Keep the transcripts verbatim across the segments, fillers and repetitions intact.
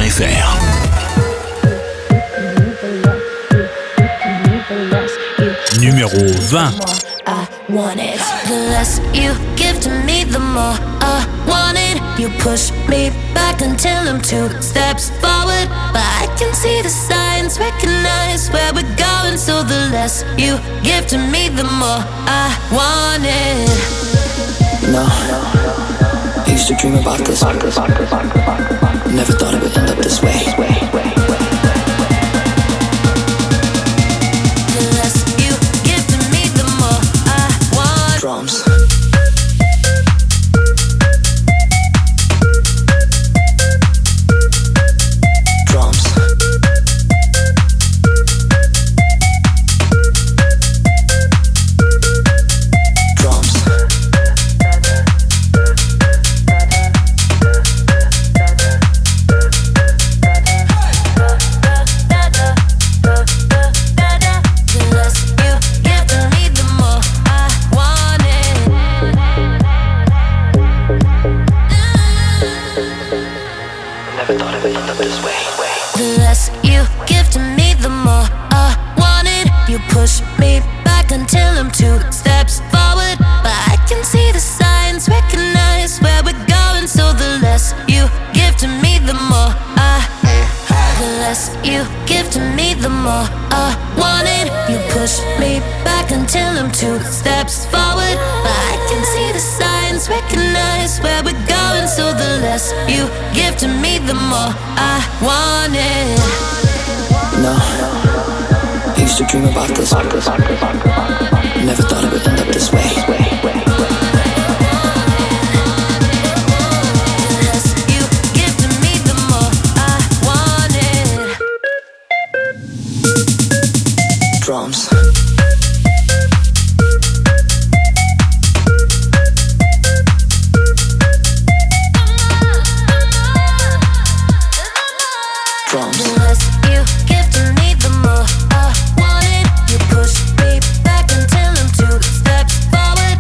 F R. Numéro vingt. I want it. The less you give to me, the more I want it. You push me back until I'm two steps forward, but I can see the signs, recognize where we're going. So the less you give to me, the more I want it. No, I used to dream about this. Never thought it would end up this way. Drums. Drums. Drums. Push me back until I'm two steps forward, but I can see the signs, recognize where we're going. So the less you give to me, the more I The less you give to me, the more I want it. You push me back until I'm two steps forward, but I can see the signs, recognize where we're going. So the less you give to me, the more I want it. No, I used to dream about this. Never thought it would end up this way. Drums. Drums. The less you give to me, the more I want it. You push me back until I'm two steps forward,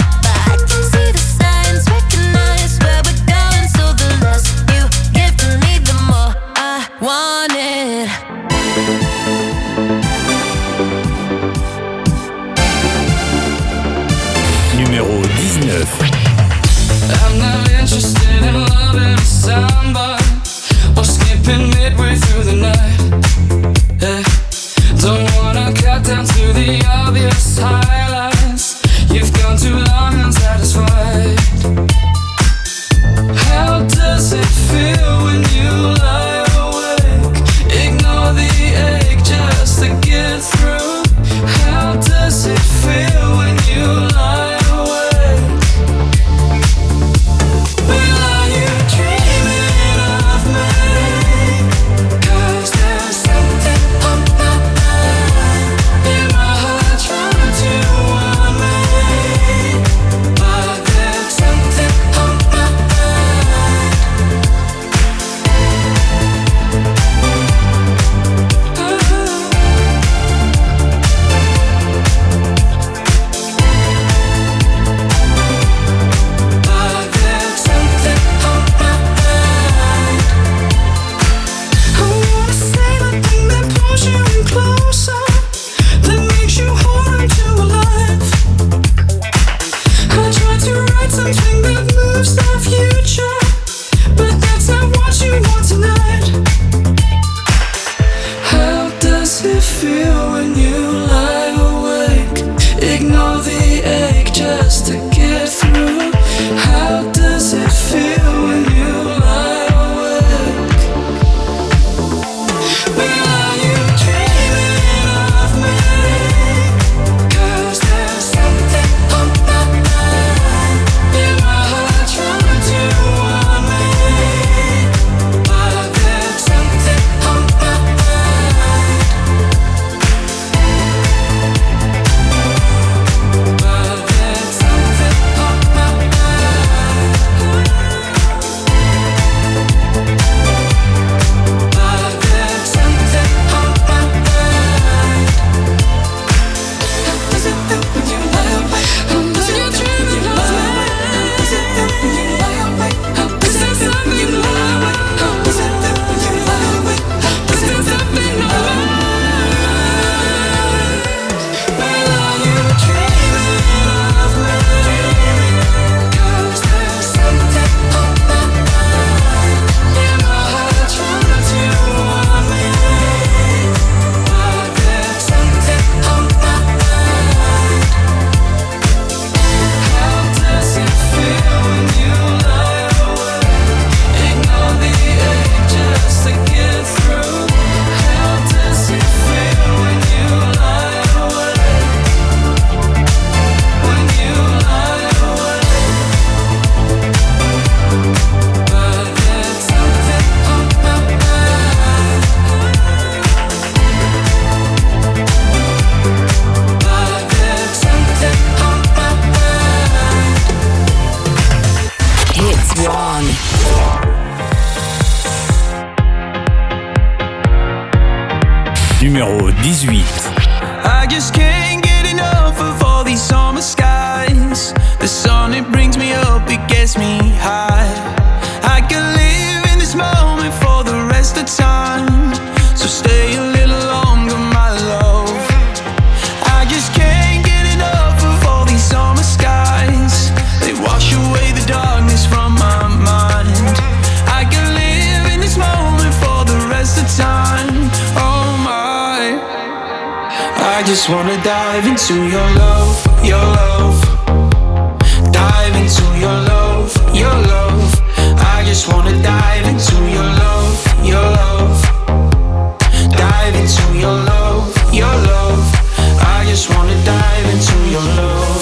Numéro dix-huit. I just can't get enough of all these summer skies. The sun, it brings me up, it gets me high. I can live in this moment for the rest of time. So stay a little longer, my love. I just can't get enough of all these summer skies. They wash away the darkness from my mind. I can live in this moment for the rest of time. Oh my, I just wanna dive into your love, your love. Dive into your love, your love. I just wanna dive into your love, your love. Dive into your love, your love. I just wanna dive into your love.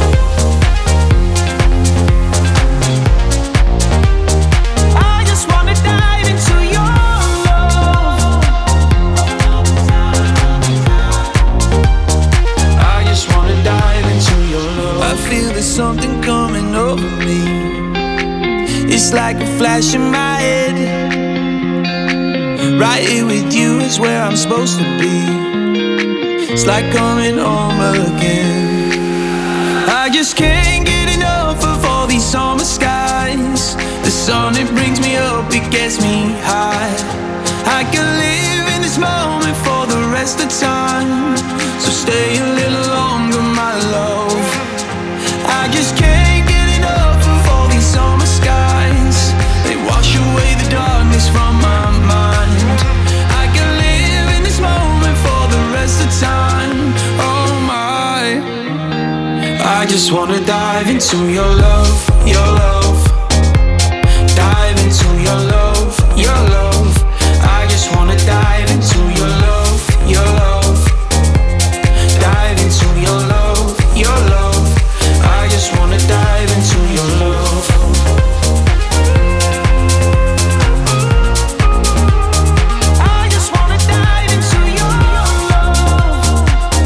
I just wanna dive into your love. I just wanna dive into your love. I feel there's something coming over me. It's like a flash in my head. Right here with you is where I'm supposed to be. It's like coming home again. I just can't get enough of all these summer skies. The sun, it brings me up, it gets me high. I can live in this moment for the rest of time. So stay a little longer, my love. I just can't get enough of all these summer skies. They wash away the darkness from my mind. I can live in this moment for the rest of time. Oh my, I just wanna dive into your love, your love. Dive into your love, your love. I just wanna dive into your love, your love. Dive into your love, your love. I just wanna dive into your love. I just wanna dive into your love.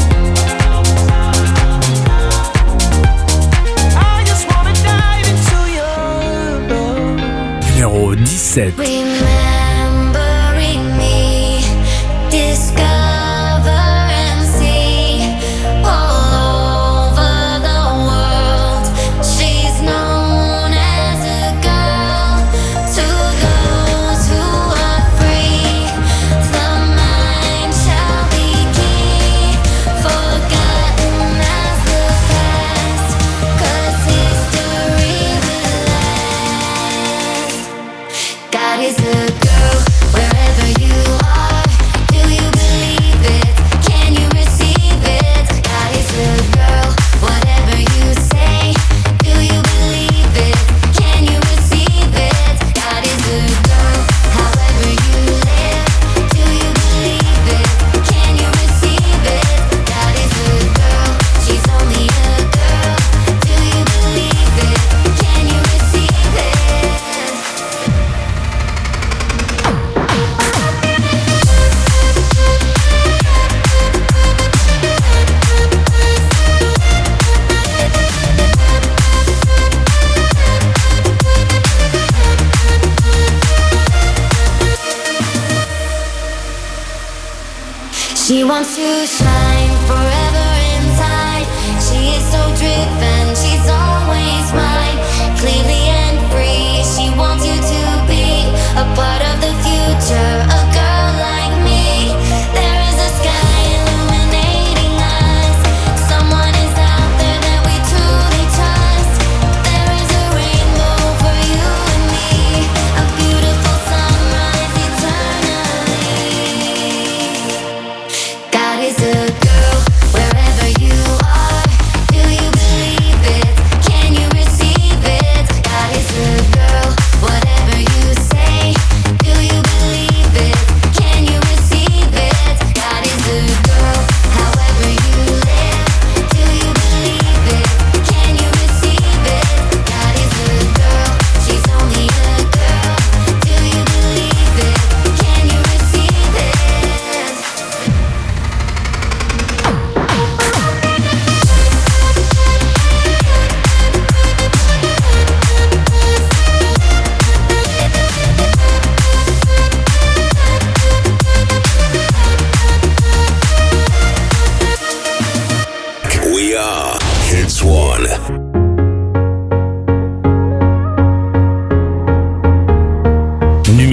I just wanna dive into your love. Numéro dix-sept. Remembering me, discover and see all over the world. She's known as a girl to those who are free. The mind shall be key, forgotten as the past, 'cause history will last. God is a girl wherever you are. Do you believe it? Can you receive it? God is a girl, whatever you say. Do you believe it? Can you receive it? God is a girl, however you live. Do you believe it? Can you receive it? God is a girl, she's only a girl. Do you believe it? Can you receive it? She wants to shine forever inside. She is so driven, she's always mine. Clearly and free, she wants you to be a part of the future, a girl like me. There is a sky illuminating us. Someone is out there that we truly trust. There is a rainbow for you and me, a beautiful sunrise eternally. God is a girl.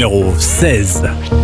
Numéro seize.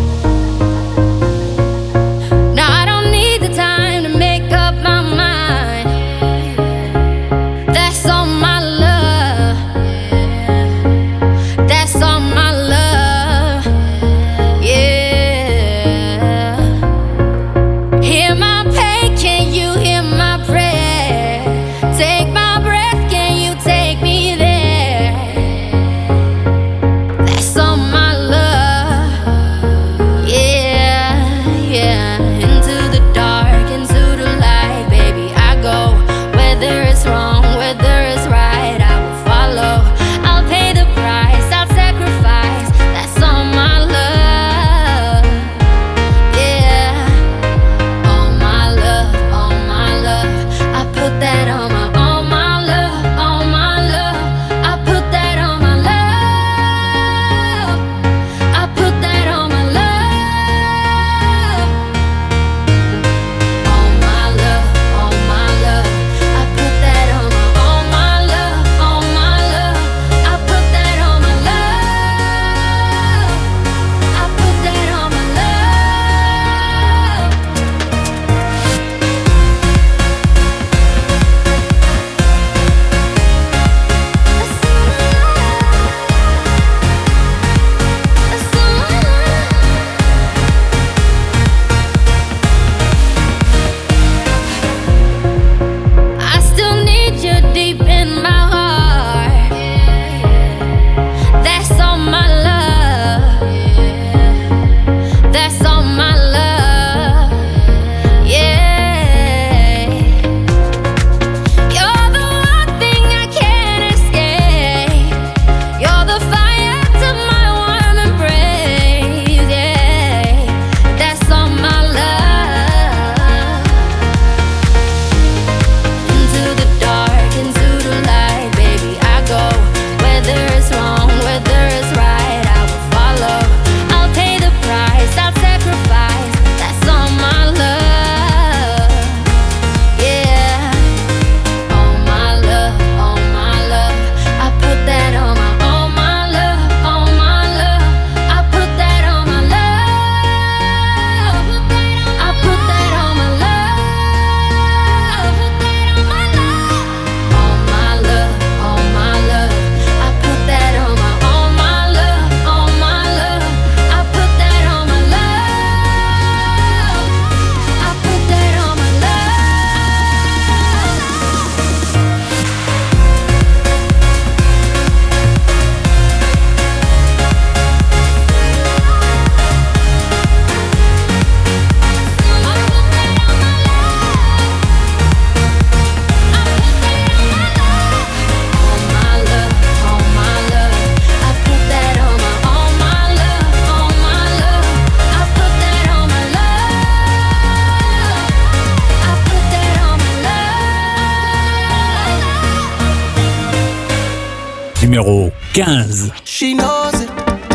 Numéro quinze. She knows it,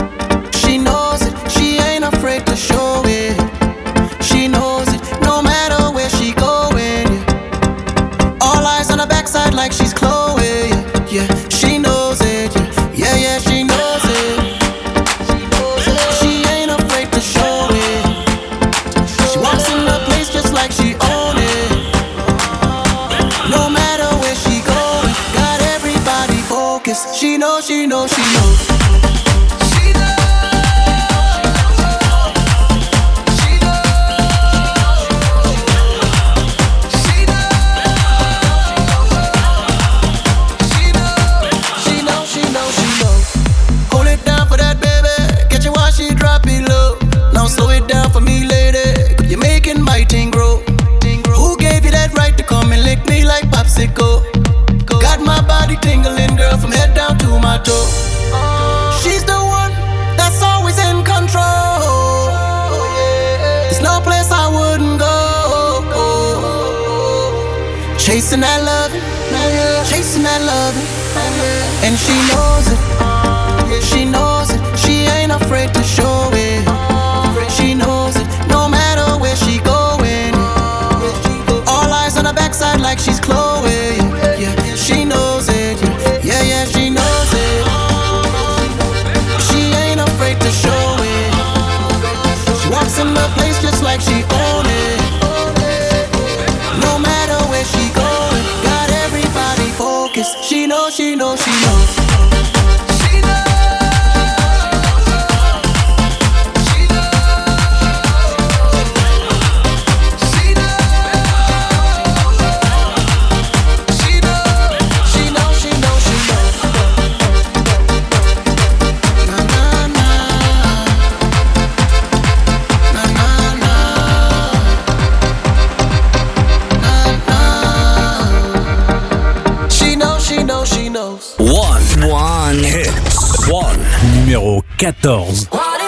she knows it, she ain't afraid to show it. She knows it, no matter where she going. Yeah. All eyes on her backside like she's Chloe. Yeah, yeah. She knows it, yeah, yeah, yeah. She knows it. She knows it. She ain't afraid to show it. She walks in the place just like she own it. No matter where she going, got everybody focused. She knows, she knows, she knows. Got my body tingling, girl, from head down to my toe. She's the one that's always in control. There's no place I wouldn't go. Chasing that loving, chasing that loving, and she knows it. She knows it. She ain't afraid to show it. She knows it. No matter where she going, all eyes on her backside like she's Chloe. Yeah, she knows it. Yeah, yeah, she knows it. She ain't afraid to show it. like she own it. No matter where she going, got everybody focused. She knows, she knows, she knows. One. One. Hits. One. Numéro quatorze.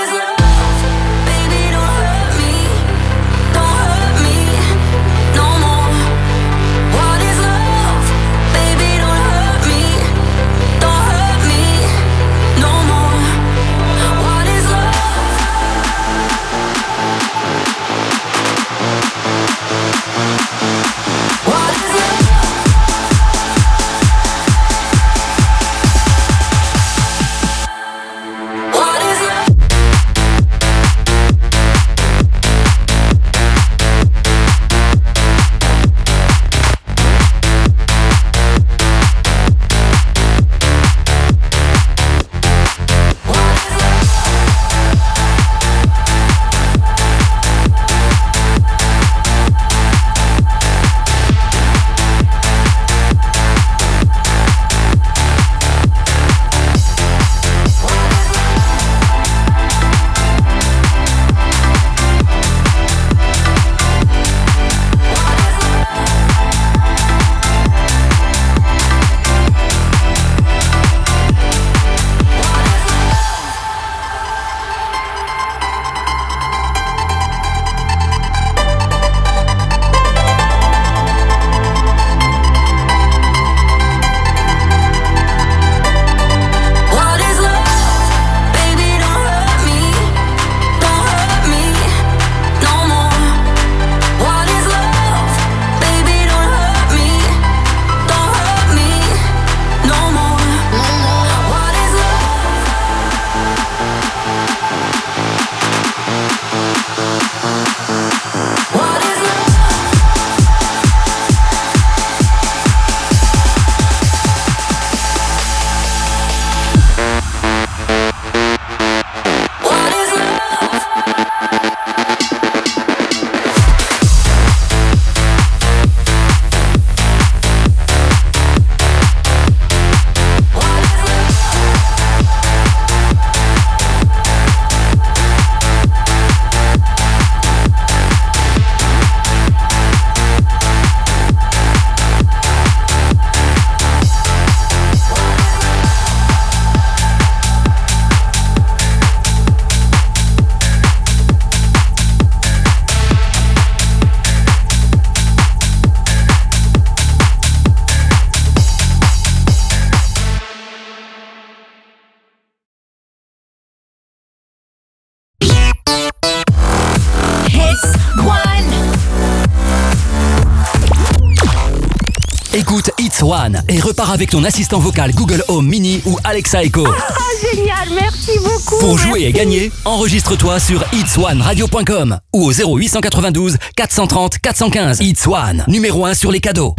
Écoute It's One et repars avec ton assistant vocal Google Home Mini ou Alexa Echo. Ah, génial, merci beaucoup. Pour merci. jouer et gagner, enregistre-toi sur its one radio point com ou au zéro huit quatre-vingt-douze quatre cent trente quatre cent quinze. It's One, numéro un sur les cadeaux.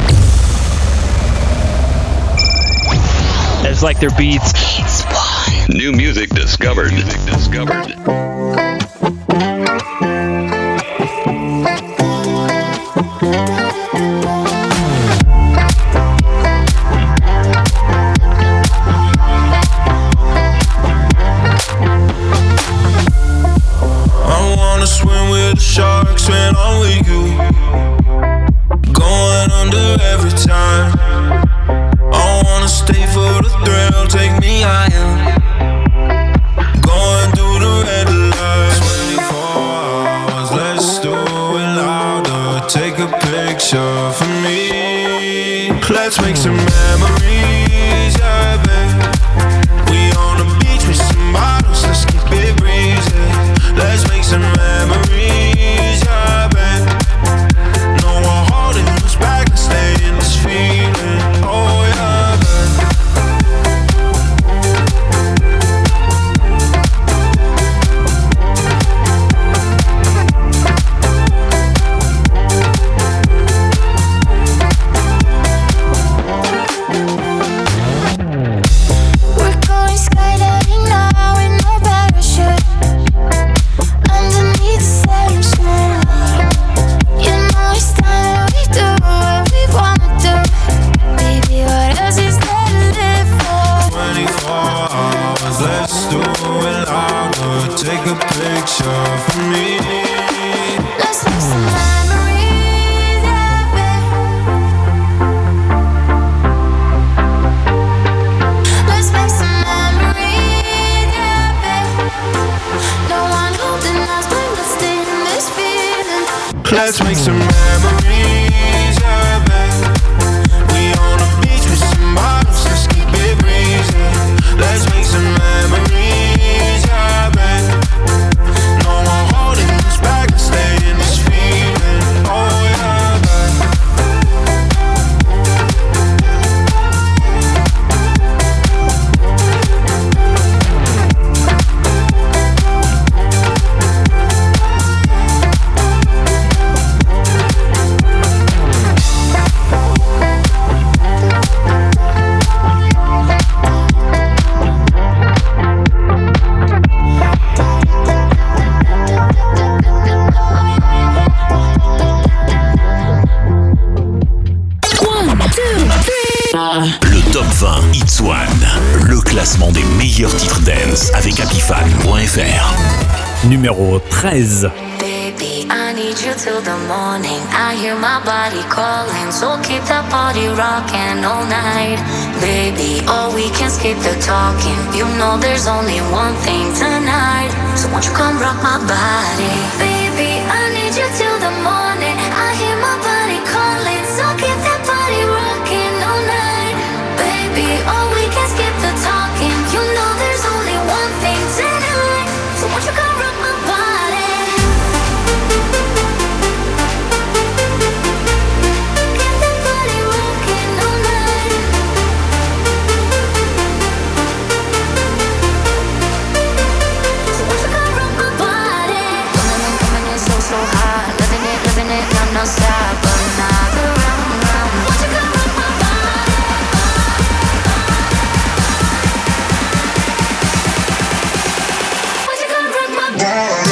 It's like their beats. It's One. New music discovered. Music discovered. Swim with the sharks when I'm with you. Going under every time. I wanna stay for the thrill, take me higher. Going through the red light. twenty-four hours, let's do it louder. Take a picture for me. Let's make some memories, yeah, babe. We on the beach with some bottles, let's keep it breezy. Let's make some memories, yeah, babe. No one holding us back, let's stay in this feeling. Oh, yeah, babe. Let's make some memories, yeah, babe. We on the beach with some bottles, let's keep it breezy. Let's make some memories, yeah, babe. No one holding us back, let's stay in this feeling. Oh yeah, babe. Le top vingt Hits One, le classement des meilleurs titres dance avec Apifan point F R. Numéro treize. Baby, I need you till the morning. I hear my body calling, so keep that body rocking all night. Baby, oh, we can skip the talking. You know there's only one thing tonight, so won't you come rock my body? Baby, I need you till the morning. I hear my body calling, so keep that body rocking all night. Baby, oh, we can skip the talking. You know there's only one thing tonight, so won't you come rock my body? Get that body rocking all night. So won't you come rock my body? Coming in, coming in so, so hot. Living it, living it, I'm not sad, but another round, round. Won't you come rock my body? Won't you come rock my body?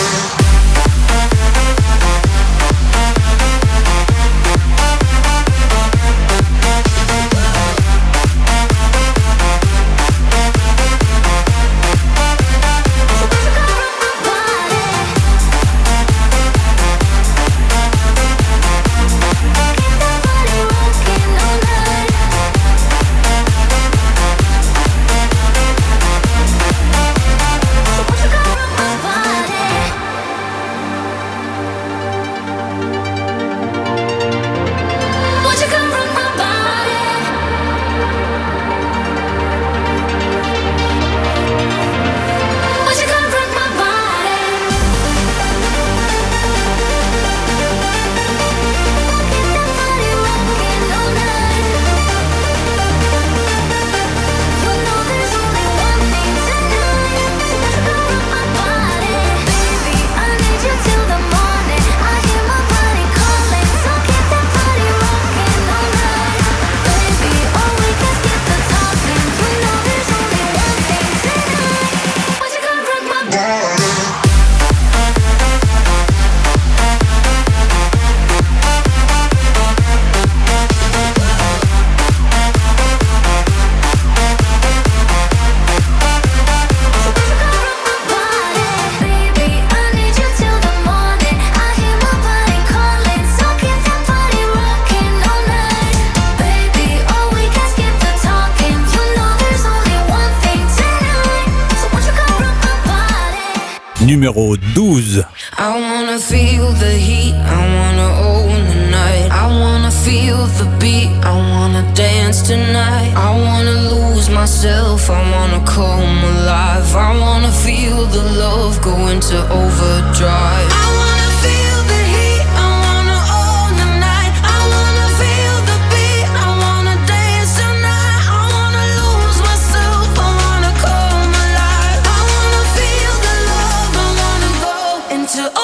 Numéro douze. I wanna feel the heat, I wanna own the night. I wanna feel the beat, I wanna dance tonight. I wanna lose myself, I wanna come alive. I wanna feel the love go into overdrive. I wanna feel the heat, I wanna own the night. I wanna feel the beat, I wanna dance tonight. I wanna lose myself, I wanna come alive. I wanna feel the love, I wanna go into overdrive.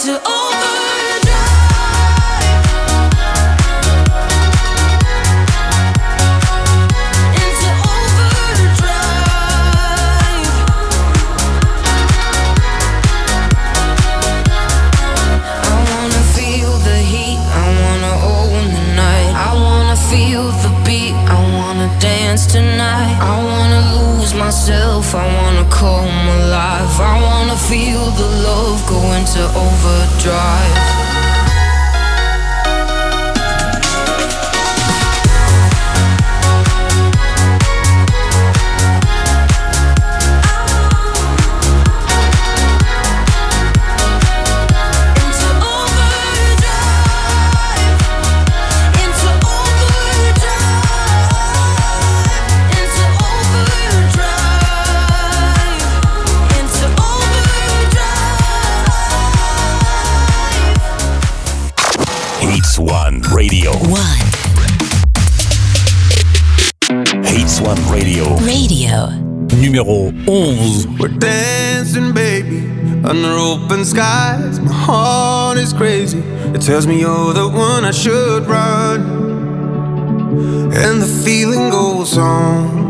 into overdrive. Into overdrive. I wanna feel the heat, I wanna own the night. I wanna feel the beat, I wanna dance tonight. I wanna lose myself, I wanna come alive. I wanna feel the love go into overdrive. Hits One Radio. One. Hits One Radio. Radio. Numéro onze. We're dancing, baby, under open skies. My heart is crazy. It tells me you're the one I should run. And the feeling goes on.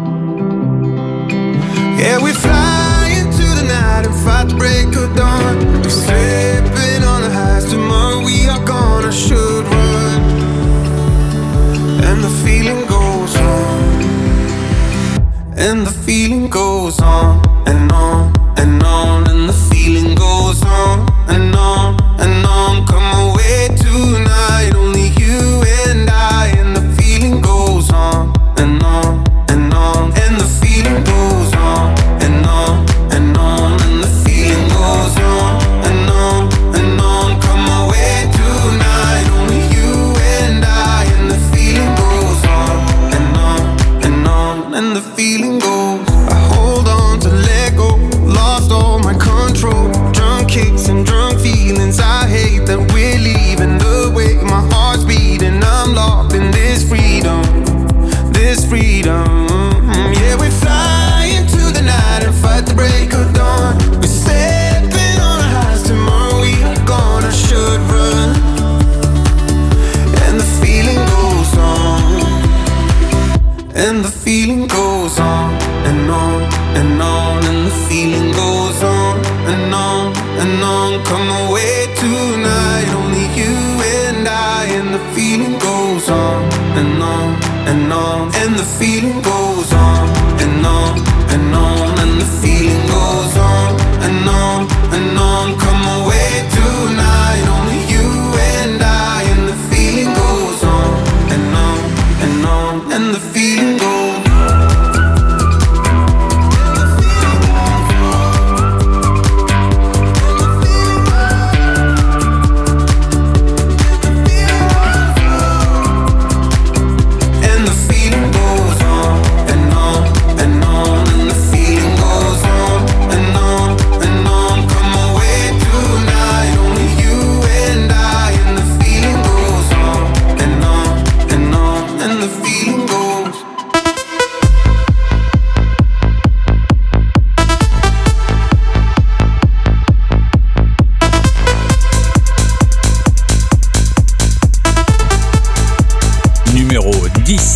Yeah, we fly into the night and fight the break of dawn. We're slipping on the highs. Tomorrow we are gone. I should run. And the feeling goes on. And the feeling goes on and on and on. And the feeling goes on and on and on. Come away tonight, only you and I. And the feeling goes on and on and on. And the feeling goes on and on and on. And the feeling goes on and on and on. Come away tonight, only you and I. And the feeling goes on and on and on. And the feeling goes. I hold on to let go. Lost all my control. Drunk kicks and drunk feelings. I hate that we're leaving the way my heart's beating. I'm locked in this freedom. This freedom. Yeah, we fly into the night and fight the break of dawn. We're stepping on our highs. Tomorrow we are gone. I should run. And the feeling goes on. And the feeling goes on and on and on. And the feeling goes on and on and on. Come away tonight, only you and I. And the feeling goes on and on and on. And the feeling goes on and on and on. And the feeling goes on and on and on. Come away tonight, only you and I. And the feeling goes on and on and on. And the feeling goes. Numéro dix.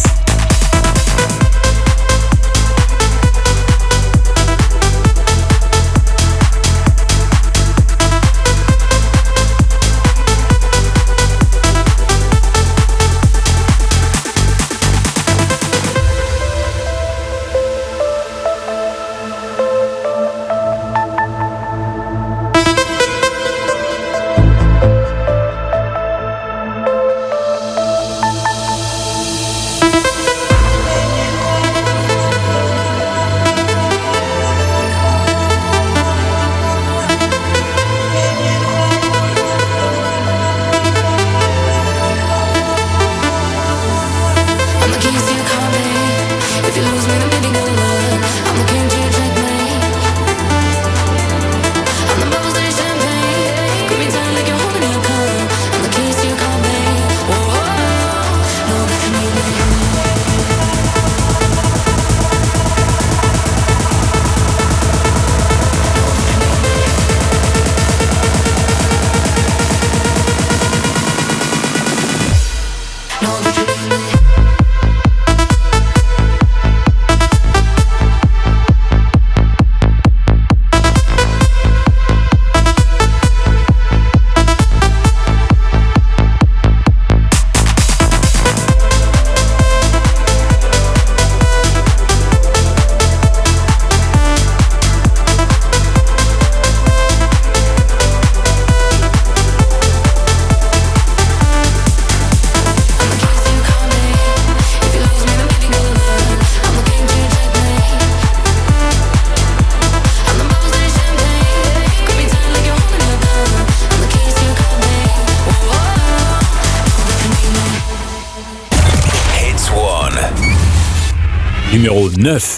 Numéro neuf.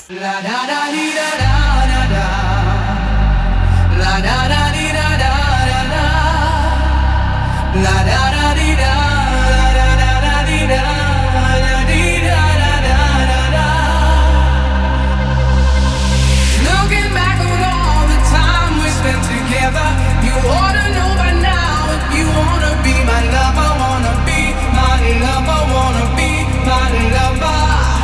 Looking back on all the time we spent together, you ought to know by now if you wanna be my lover, wanna be my lover, wanna be my lover.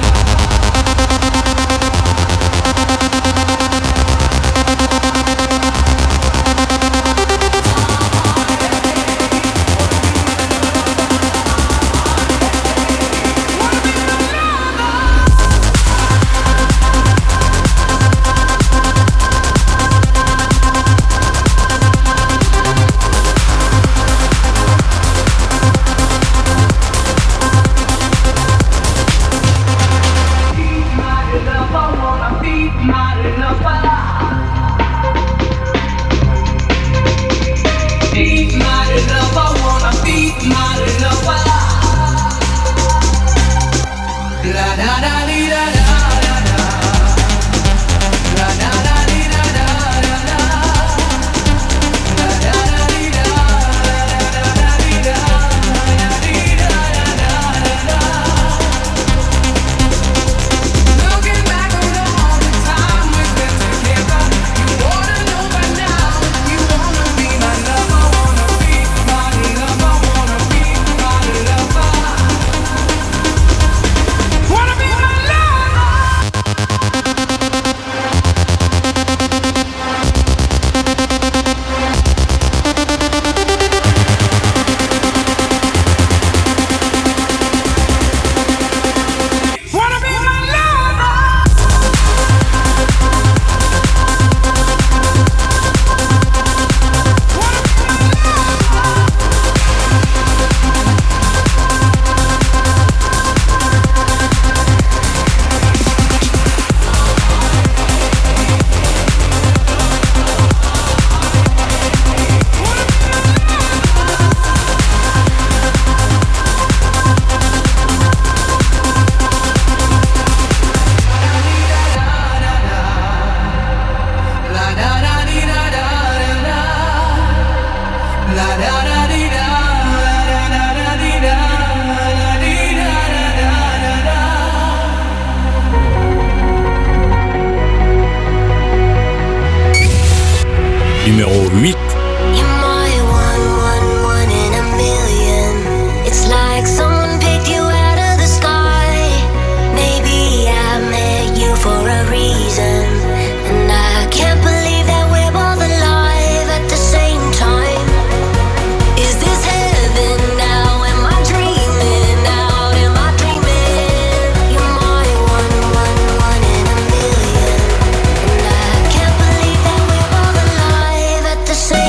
Numéro huit. The same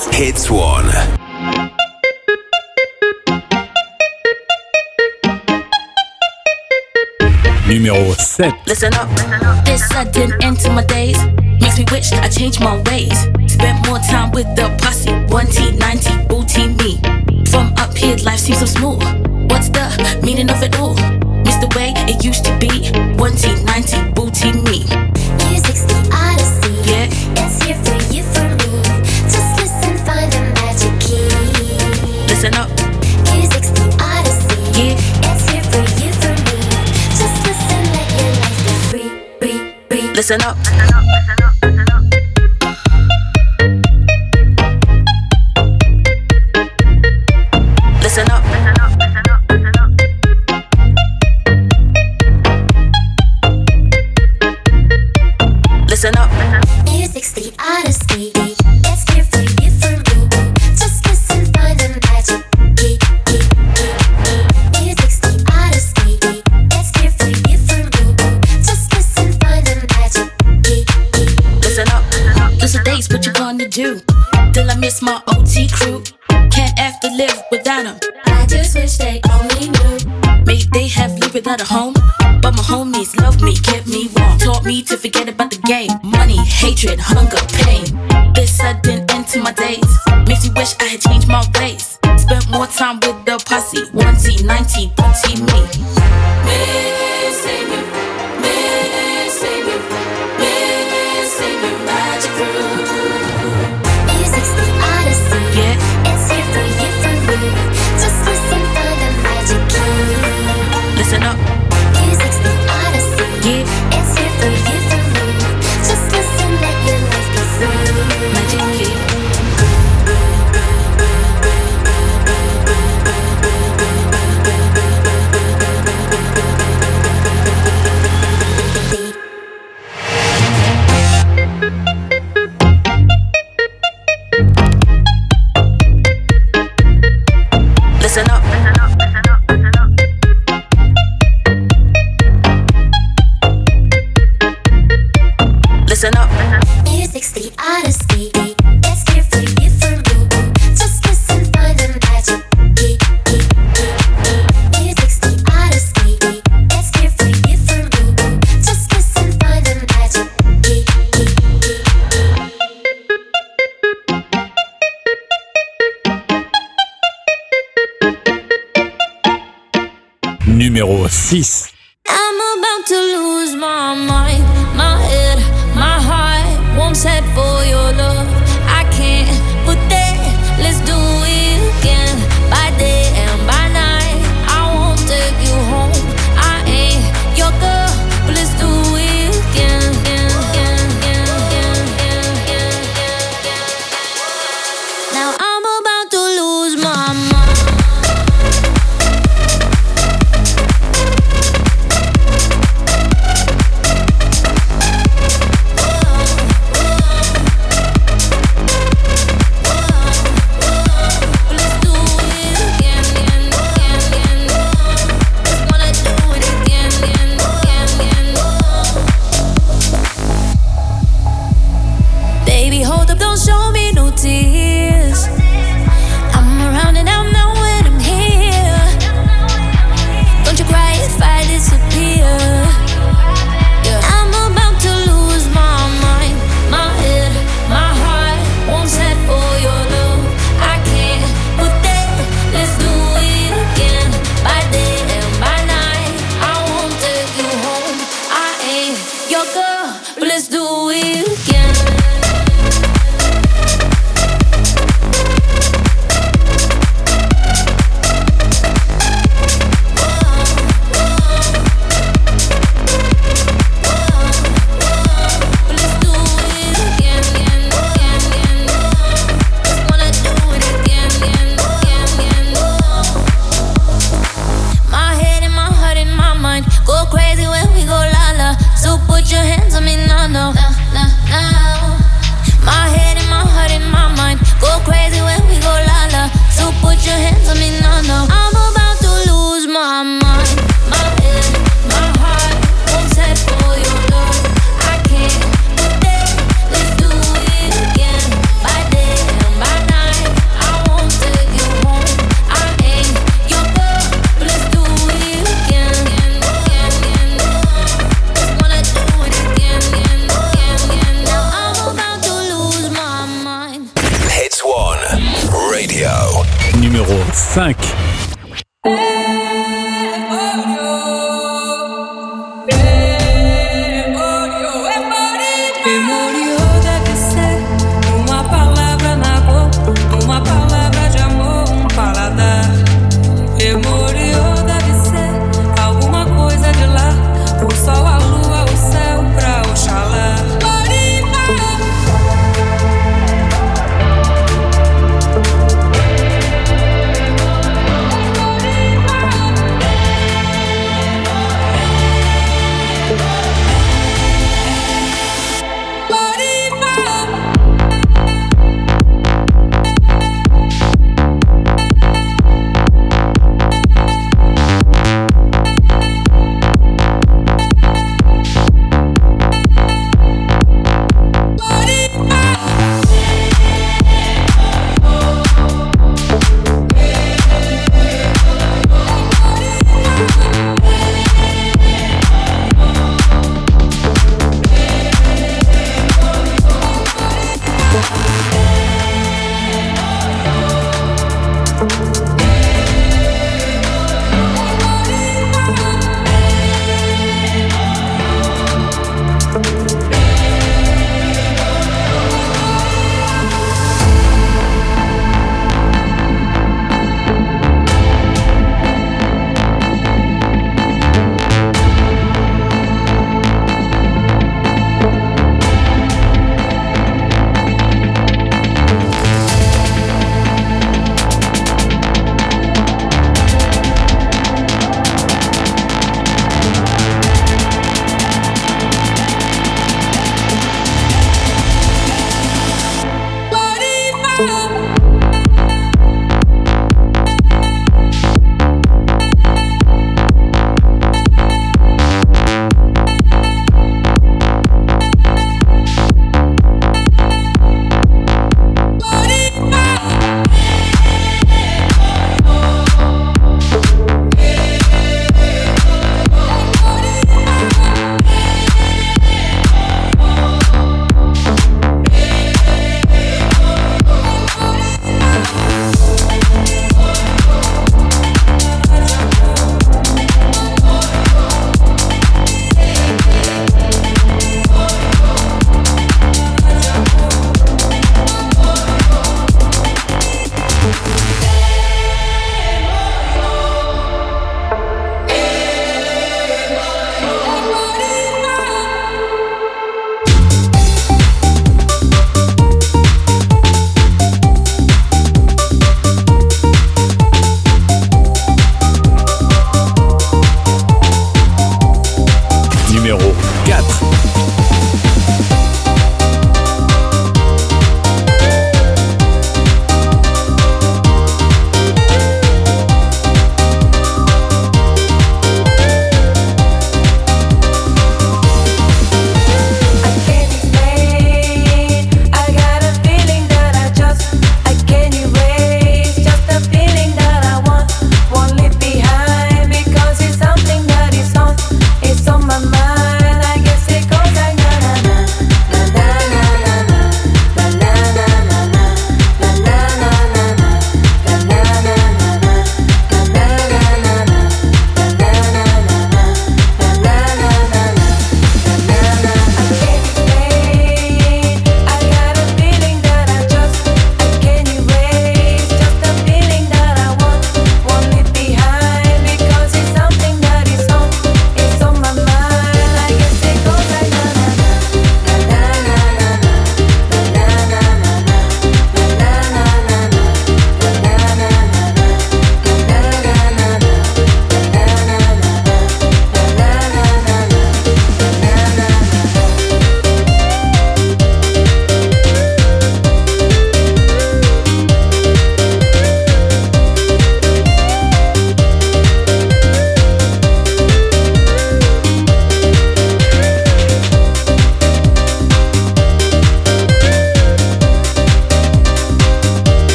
Hits One. Numéro sept. Listen up, this sudden end to my days makes me wish I changed my ways. Spent more time with the posse, one T, ninety, booty me. From up here, life seems so smooth. What's the meaning of it all? Miss the way it used to be, one T, ninety, booty me. Music's the odyssey, yeah. It's here for you, for me. Just listen, find the magic key. Listen up. Music's the odyssey, yeah. It's here for you, for me. Just listen, let your life be free, free, free. Listen up. Listen up. Listen up. Music's the odyssey. It's here for you, for me. Just listen, find the magic key. Music's the odyssey. It's here for you, for me. Just listen, find the magic key. Listen up. Those are days, what you gonna do? Till I miss my O T crew. Can't have to live without them. I just wish they only knew. Maybe they have lived without a home, but my homies loved me, kept me warm. Taught me to forget about the game. Money, hatred, hunger, pain. This sudden end to my days makes me wish I had changed my ways. Spent more time with the posse, one T, ninety, booty me. Missing you, missing you, missing you, magic crew. Music's the odyssey, yeah. It's here for you, for me. Just listen, find the magic key. Listen up. Music's the odyssey, yeah. It's here for you, for me. Just listen, let your life be free. Magic key. Listen up. Listen up. Music's the odyssey. It's here for you, for me. Just listen, find the magic key. Music's the odyssey. It's here for you, for me. Just listen, find the magic key. Numéro six. I'm about to lose my mind, my head, my heart won't set for your love. I can't put that, let's do it again. By day and by night, I won't take you home. I ain't your girl, but let's do it again. Now I'm about to lose my mind. Radio. Numéro cinq. Bye.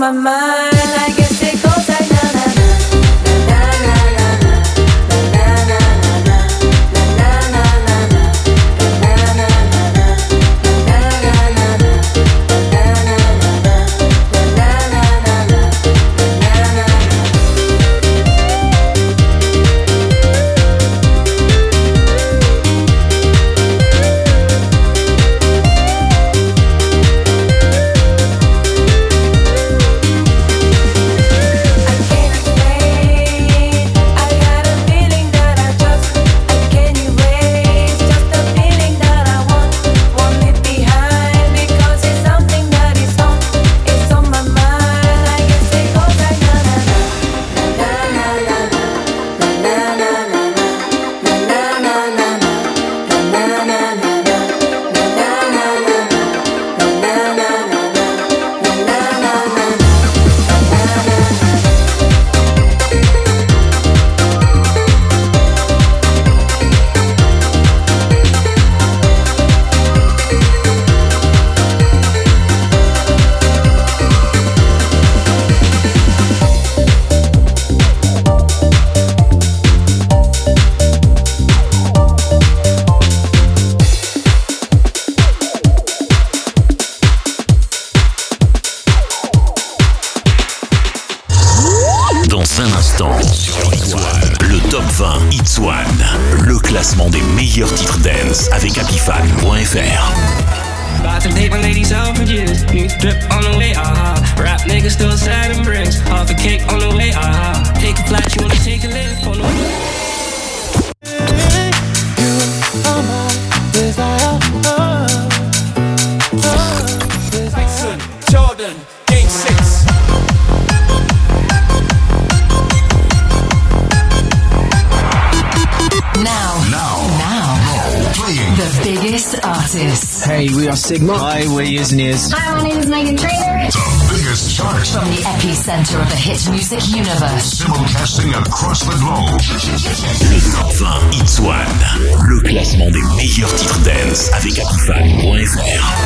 my mind. I guess it goes like na na na. Sigma. Hi, we're Years and Years. Hi, my name is Megan Trainor. The biggest chart. From the epicenter of the hit music universe. Simulcasting across the globe. Le Top vingt Hits One. Le classement des meilleurs titres dance avec Apifan point F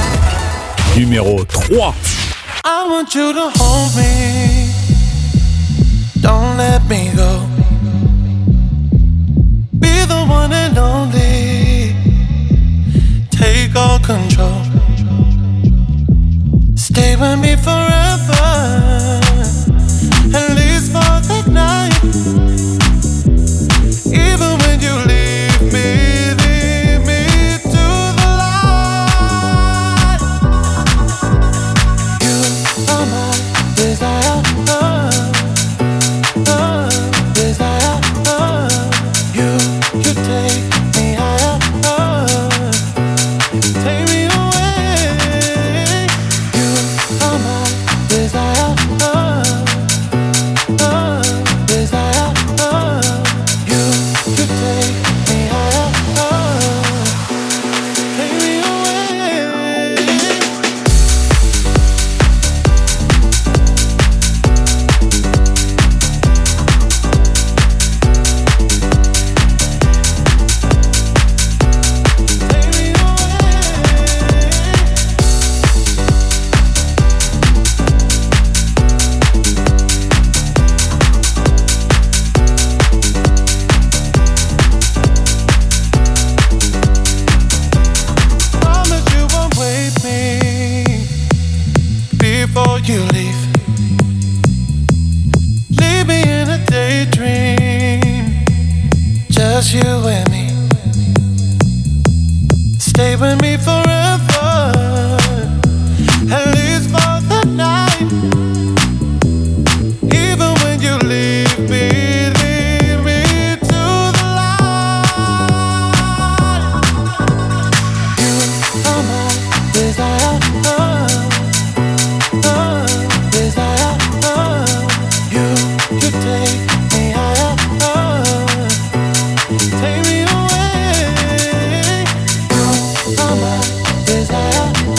R. Numéro trois. I want you to hold me. Don't let me go. Be the one and only. Take all control. Stay with me forever, at least for the night. Even when you leave me, leave me to the light. You are my desire, uh, uh, desire. Uh, you, you take me higher. Uh, take me away. You are my desire. Uh, uh, desire. Uh, you, you take me higher. Uh, take me away. Promise you won't wait me before you leave. Leave me in a daydream, just you and me. Stay with me forever, at least for the night. Even when you leave me, leave me to the light. You are my desire, uh, uh, desire. Uh, you, you take me higher. Uh, take me away. You are my desire.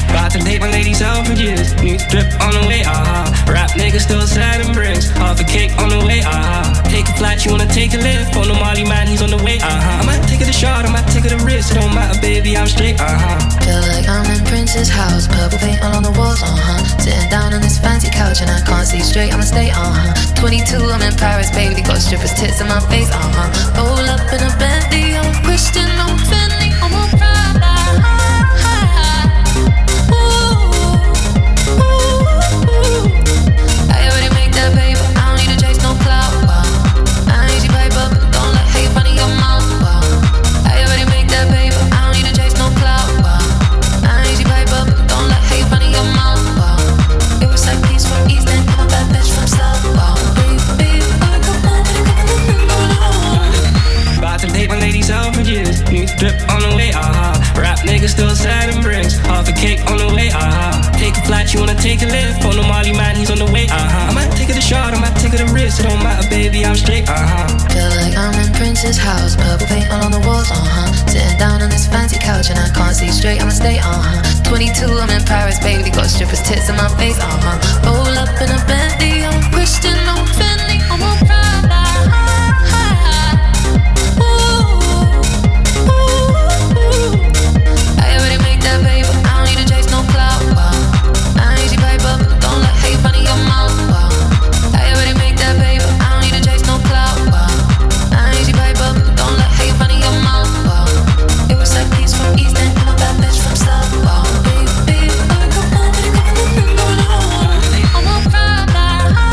About to take my ladies out for years. New drip on the way, ah. Uh-huh. Rap niggas still sad and bricks. Half a cake on the way, ah. Uh-huh. Take a flight, you wanna take a lift. On the Molly man, he's on the way, ah. Uh-huh. I might take it a shot, I might take it a risk. It don't matter, baby, I'm straight, uh huh. Feel like I'm in Prince's house, purple paint all on the walls, uh huh. Sitting down on this fancy couch and I can't see straight, I'ma stay, uh huh. twenty-two, I'm in Paris, baby, got strippers' tits in my face, uh huh. Roll up in a Bentley, I'm a Christian, I'm a Fendi, I'm a Prada. I already make that paper, I don't need to chase no clout, wow. I ain't easy paper, don't let hate run in your mouth, wow. I already make that paper, I don't need to chase no clout, wow. I ain't easy paper, don't let hate run in your mouth, wow. It was like peace from East End, I'm a bad bitch from South, wow. Baby, I come on, about to take my ladies out for years. New drip on the way, ah. Uh-huh. Rap niggas still sad and bricks. Half a cake on the way, ah. Uh-huh. Take a flight, you wanna take a lift. On the Molly man, he's on the way, ah. Uh-huh. I might take it a shot, I might take it a risk. It don't matter, baby, I'm straight, uh huh. Feel like I'm in Prince's house, purple paint all on the walls, uh huh. Sitting down on this fancy couch and I can't see straight, I'ma stay, uh huh. twenty-two, I'm in Paris, baby, got strippers' tits in my face, uh huh. Roll up in a Bentley, I'm a Christian, I'm a Fendi, I'm a Prada. I already make that paper, I don't need to chase no clout, wow. I ain't easy paper, don't let hate run in your mouth, wow. I already make that paper, I don't need to chase no clout, wow. I ain't easy paper, don't let hate run in your mouth, wow. It was like peace from East End, I'm a bad bitch from South, wow. Baby, I come on, come on, I'm a Prada.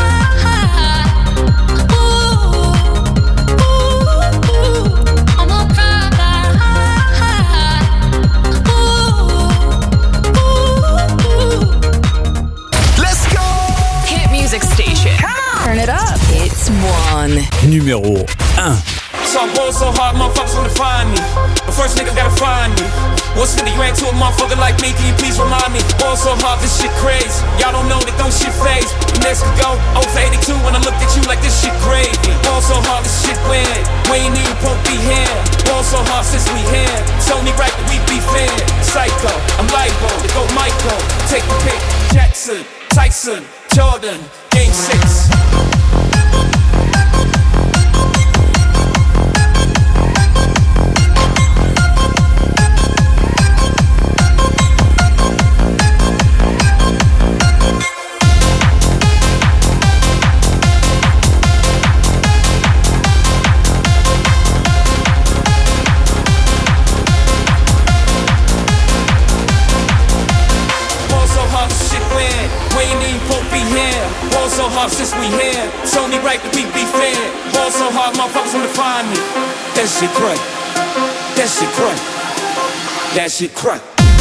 Turn it up. It's one. Numéro un. So I'm going so hard, motherfuckers wanna find me. But first nigga gotta find me. What's really you ain't to a motherfucker like me? Can you please remind me? Going so hard, this shit crazy. Y'all don't know that don't shit phase. Next could go over eighty-two when I look at you like this shit crazy. Going so hard, this shit weird. We ain't even supposed to be here. Going so hard since we here. It's only right that we be fair. Psycho, I'm libo, to go Michael. Take the pick. Jackson, Tyson, Jordan, Game six. So hard since we here, it's only right that we be fair. Ball so hard, motherfuckers wanna find me. That shit crack, that shit crack, that shit crack.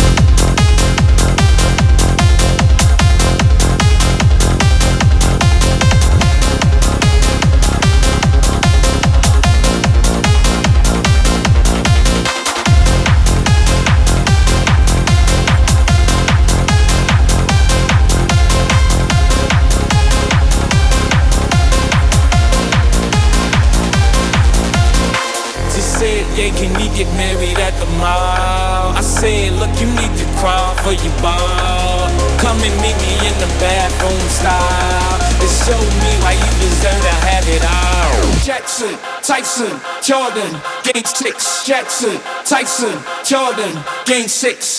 Yeah, can we get married at the mall? I said, look, you need to crawl for your ball. Come and meet me in the bathroom style and show me why you deserve to have it all. Jackson, Tyson, Jordan, Game six. Jackson, Tyson, Jordan, Game six.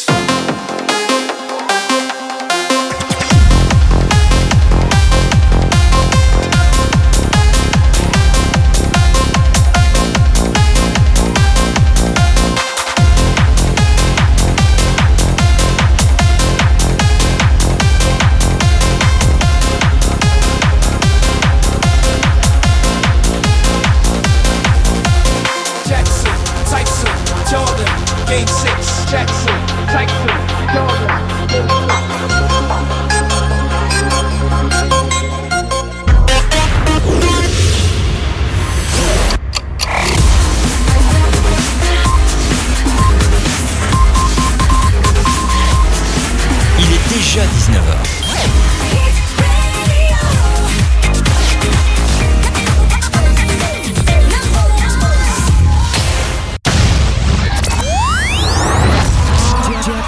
dix-neuf heures.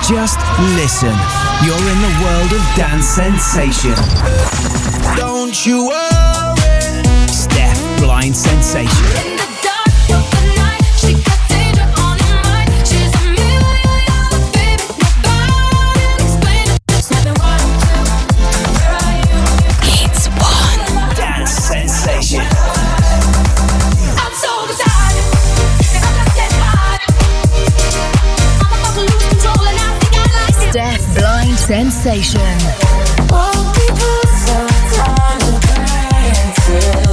Just listen. You're in the world of dance sensation. Don't you worry. Steph Blind Sensation. In the dark of the night, she got danger on her mind. She's a million dollar baby, nobody can explain it. There's nothing wrong with where are you? It's one dance sensation. I'm so beside, I'm not dead hard. I'm about to lose control and I think I like it. Steph Blind Sensation. Won't be put some time to granted.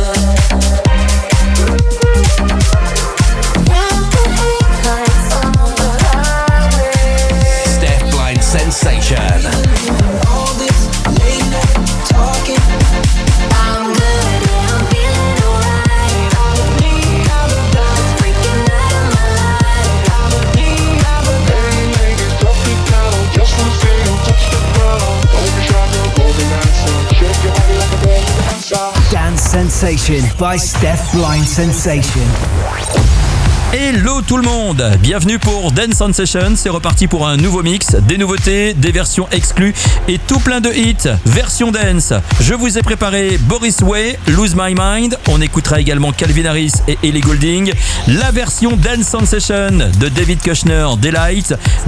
Steph Blind Sensation. All this late night talking. I'm good and I'm feeling alright. I don't need all of that. Freaking out of my life. I don't need all of that. Hey ladies, drop it down. Just wanna see you touch the ground. Don't be shy, no golden answer. Shake your body like a ball dancer. Dance Sensation by Steph Blind Sensation. Hello tout le monde, bienvenue pour Dance Sensation, c'est reparti pour un nouveau mix, des nouveautés, des versions exclues et tout plein de hits, version dance. Je vous ai préparé Boris Way, Lose My Mind, on écoutera également Calvin Harris et Ellie Goulding, la version Dance Sensation de David Kushner, Daylight,